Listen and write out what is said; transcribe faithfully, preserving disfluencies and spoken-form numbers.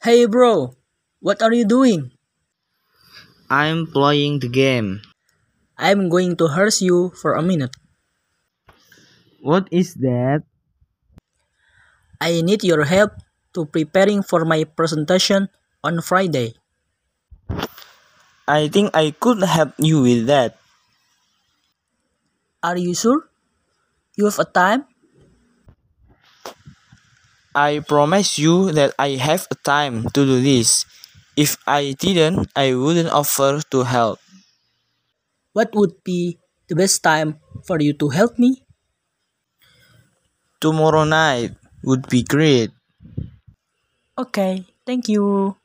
Hey bro, what are you doing? I'm playing the game. I'm going to harass you for a minute. What is that? I need your help to preparing for my presentation on Friday. I think I could help you with that. Are you sure? You have a time? I promise you that I have a time to do this. If I didn't, I wouldn't offer to help. What would be the best time for you to help me? Tomorrow night would be great. Okay, thank you.